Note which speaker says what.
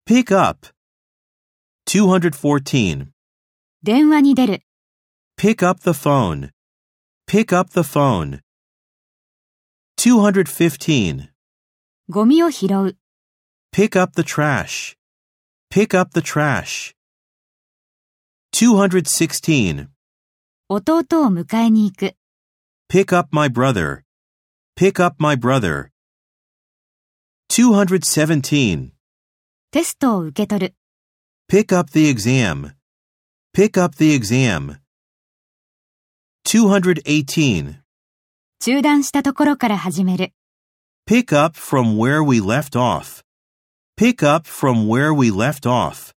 Speaker 1: Pick up. 214.
Speaker 2: 電話に出る。
Speaker 1: Pick up the phone. Pick up the phone. 215.
Speaker 2: ゴミを拾う。
Speaker 1: Pick up the trash. Pick up the trash. 216.
Speaker 2: 弟を迎えに行く。
Speaker 1: Pick up my brother. Pick up my brother. 217.
Speaker 2: テストを受け取る。
Speaker 1: Pick up the exam. Pick up the exam. 218.
Speaker 2: 中断したところから始める。
Speaker 1: Pick up from where we left off. Pick up from where we left off.